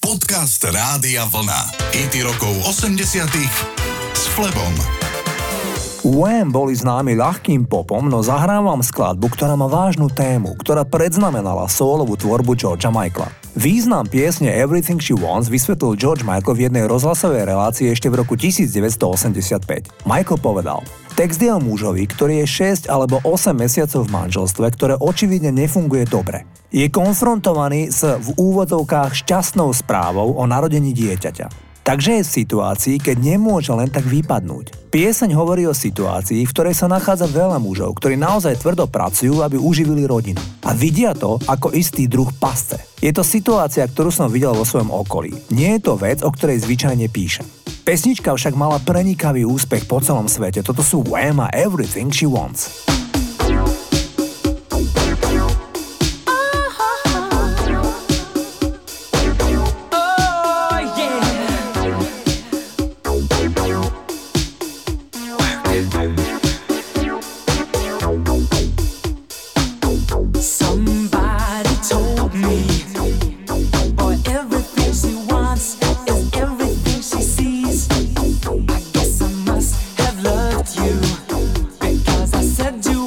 Podcast Rádia Vlna. Hity rokov 80-tych s Flebom. Wham boli známi ľahkým popom, no zahrávam skladbu, ktorá má vážnu tému, ktorá predznamenala sólovú tvorbu Georgea Michaela. Význam piesne Everything She Wants vysvetlil George Michael v jednej rozhlasovej relácii ešte v roku 1985. Michael povedal: text je o mužovi, ktorý je 6 alebo 8 mesiacov v manželstve, ktoré očividne nefunguje dobre. Je konfrontovaný s v úvodzovkách šťastnou správou o narodení dieťaťa. Takže je v situácii, keď nemôže len tak vypadnúť. Pieseň hovorí o situácii, v ktorej sa nachádza veľa mužov, ktorí naozaj tvrdo pracujú, aby uživili rodinu. A vidia to ako istý druh pasce. Je to situácia, ktorú som videl vo svojom okolí. Nie je to vec, o ktorej zvyčajne píšem. Pesnička však mala prenikavý úspech po celom svete. Toto sú Wham a Everything She Wants. Said you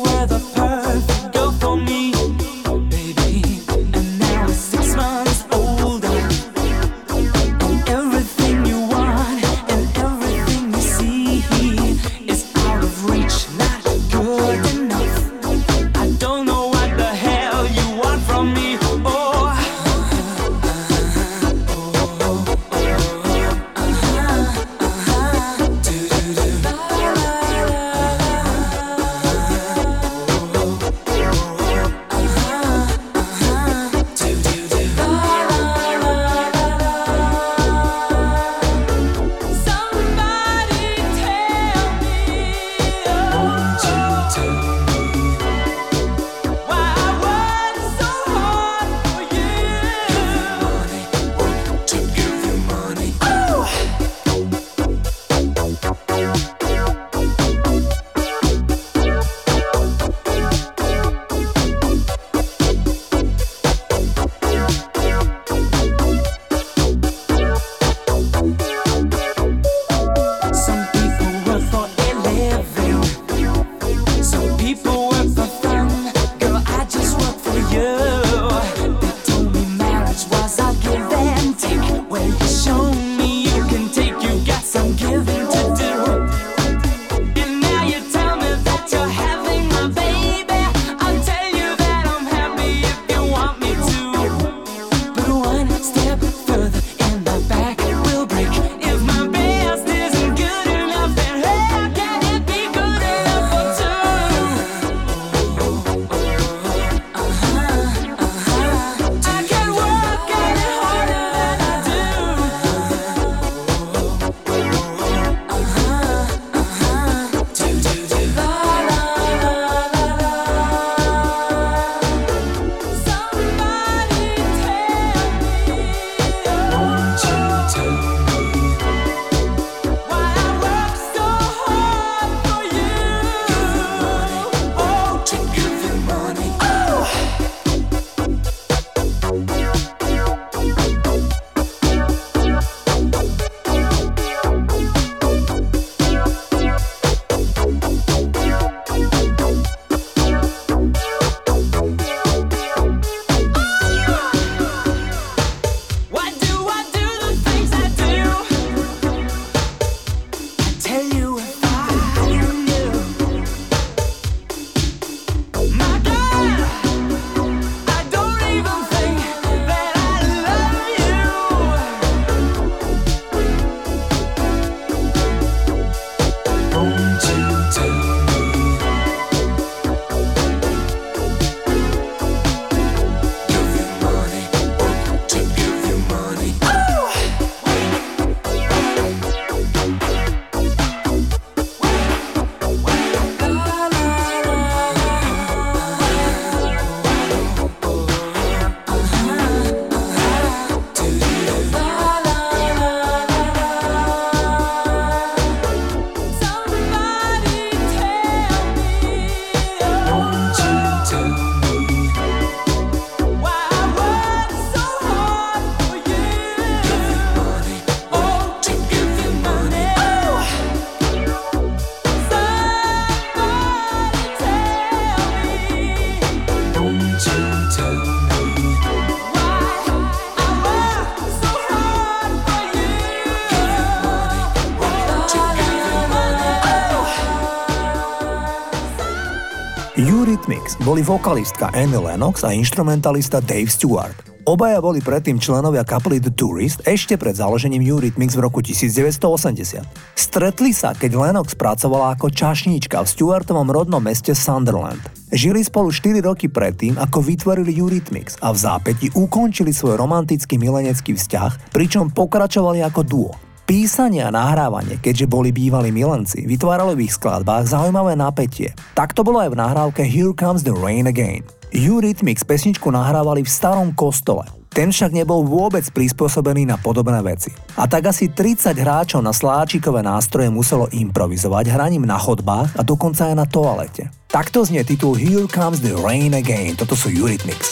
Eurythmics boli vokalistka Annie Lennox a instrumentalista Dave Stewart. Obaja boli predtým členovia kapely The Tourist ešte pred založením Eurythmics v roku 1980. Stretli sa, keď Lennox pracovala ako čašníčka v Stewartovom rodnom meste Sunderland. Žili spolu 4 roky predtým, ako vytvorili Eurythmics a v zápäti ukončili svoj romantický milenecký vzťah, pričom pokračovali ako duo. Písanie a nahrávanie, keďže boli bývalí milenci, vytváralo v ich skladbách zaujímavé napätie. Tak to bolo aj v nahrávke Here Comes the Rain Again. Eurythmics pesničku nahrávali v starom kostole. Ten však nebol vôbec prispôsobený na podobné veci. A tak asi 30 hráčov na sláčikové nástroje muselo improvizovať hraním na chodbách a dokonca aj na toalete. Takto znie titul Here Comes the Rain Again. Toto sú Eurythmics.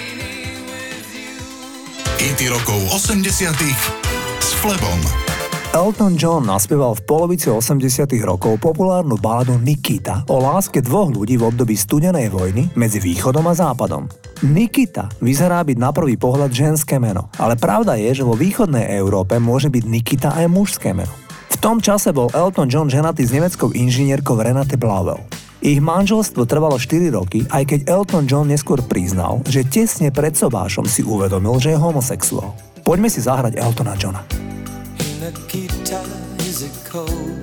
Hity rokov 80 s Flebom. Elton John naspieval v polovici 80. rokov populárnu baladu Nikita o láske dvoch ľudí v období studenej vojny medzi východom a západom. Nikita vyzerá byť na prvý pohľad ženské meno, ale pravda je, že vo východnej Európe môže byť Nikita aj mužské meno. V tom čase bol Elton John ženatý s nemeckou inžinierkou Renate Blavel. Ich manželstvo trvalo 4 roky, aj keď Elton John neskôr priznal, že tesne pred sobášom si uvedomil, že je homosexuál. Poďme si zahrať Eltona Johna. Nikita, is it cold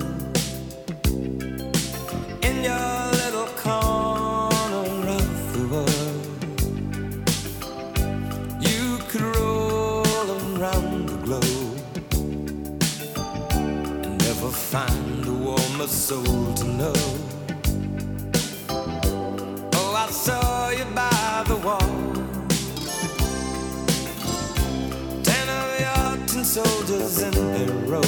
in your little corner of the world? You could roll around the globe and never find a warmer soul to know. Oh, I saw you by the wall, 10 of your tin soldiers in a row,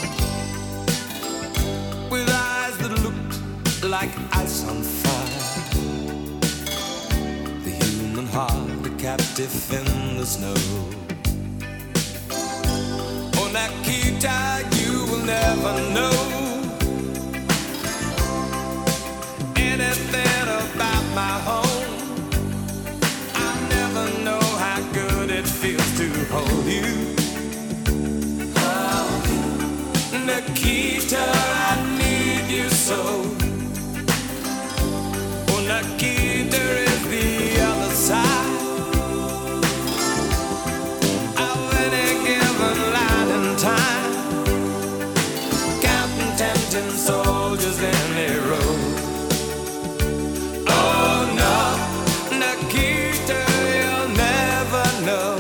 with eyes that looked like ice on fire. The human heart, a captive in the snow. Oh, Nikita, you will never know anything about my home. I never know how good it feels to hold you. Nikita, I need you so. Oh, Nikita is the other side of any given line and time, counting 10 soldiers in a row. Oh no, Nikita, you'll never know.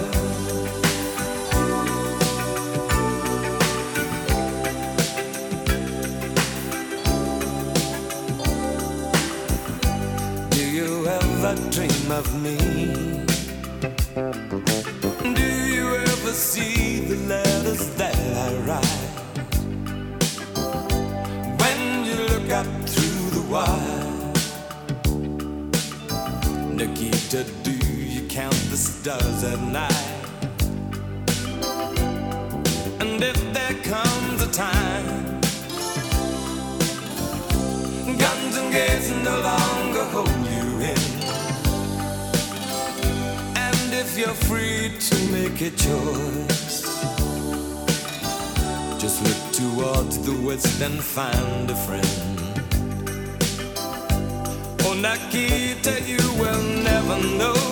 Dream of me? Do you ever see the letters that I write? When you look up through the wire, Nikita, do you count the stars at night? And if there comes a time guns and gates no longer hold you in, if you're free to make a choice, just look towards the west and find a friend. Oh, Nikita, you will never know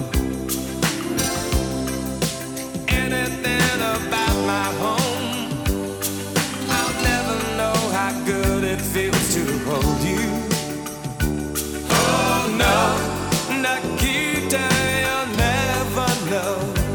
anything about my home. I'll never know how good it feels to hold you. Oh no, Nikita, you'll never know.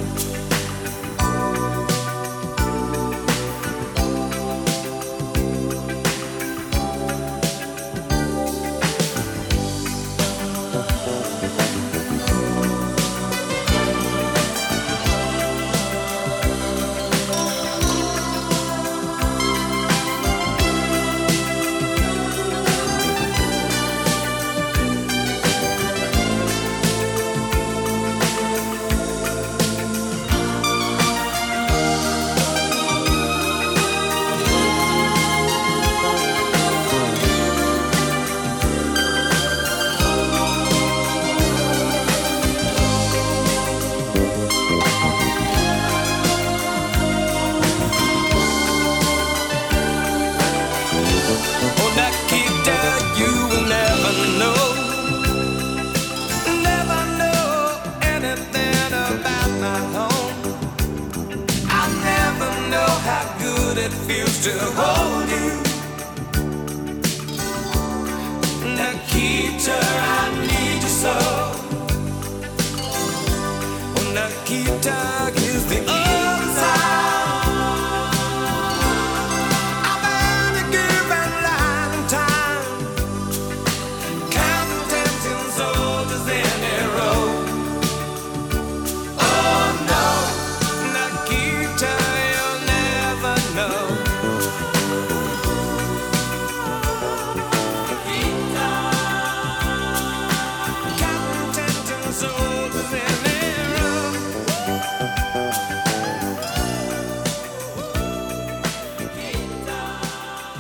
To hold you, Nikita, I need you so. Oh, Nikita is the other side. I've had a given line of time, counting 10 soldiers in a row. Oh no, Nikita, you'll never know.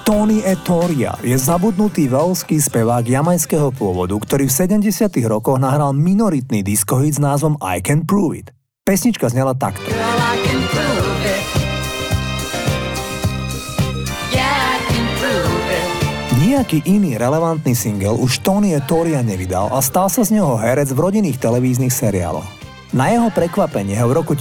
Tony Etoria je zabudnutý veľský spevák jamajského pôvodu, ktorý v 70. rokoch nahral minoritný diskohit s názvom I Can Prove It. Pesnička znela takto. Girl, I can prove it. Yeah, I can prove it. Nejaký iný relevantný single už Tony Etoria nevydal a stal sa z neho herec v rodinných televíznych seriáloch. Na jeho prekvapenie ho v roku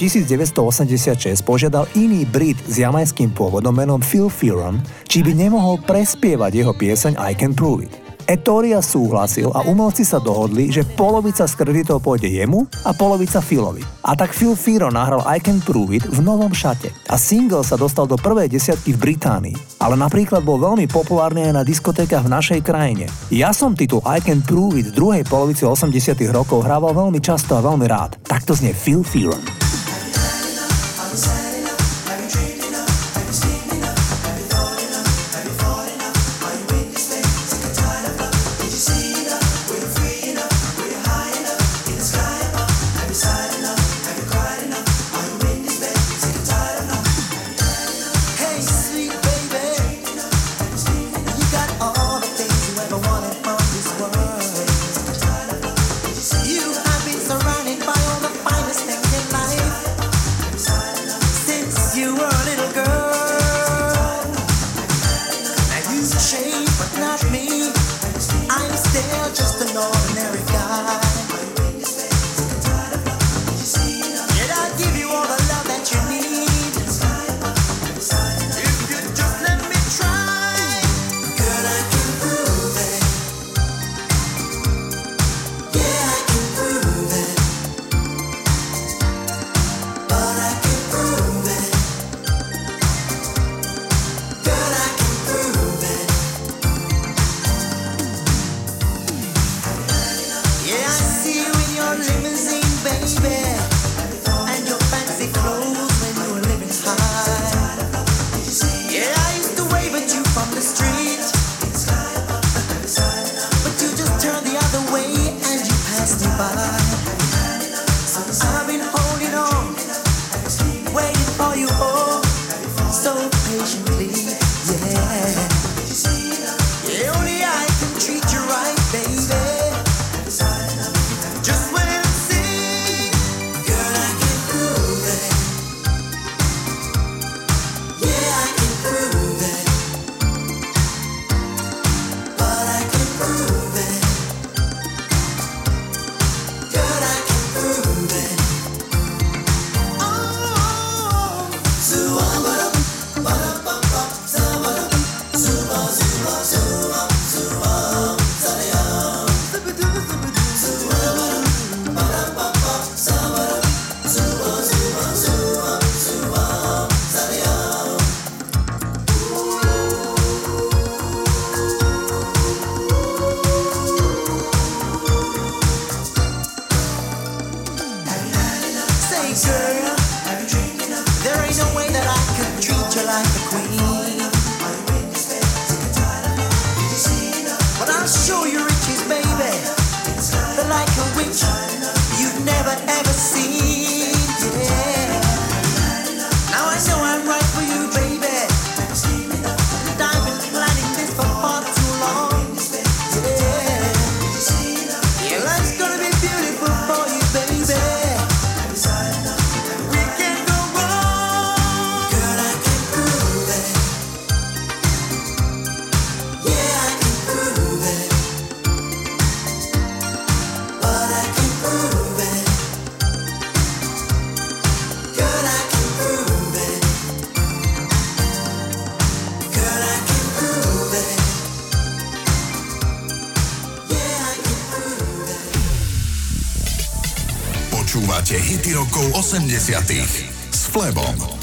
1986 požiadal iný Brit s jamajským pôvodom menom Phil Fearon, či by nemohol prespievať jeho pieseň I Can Prove It. Etoria súhlasil a umelci sa dohodli, že polovica z kreditov pôjde jemu a polovica Philovi. A tak Phil Fearon nahral I Can Prove It v novom šate a single sa dostal do prvej desiatky v Británii. Ale napríklad bol veľmi populárny aj na diskotékach v našej krajine. Ja som titul I Can Prove It v druhej polovici 80 rokov hrával veľmi často a veľmi rád. Takto znie Phil Fearon. Počúvate hity rokov 80 s Flebom.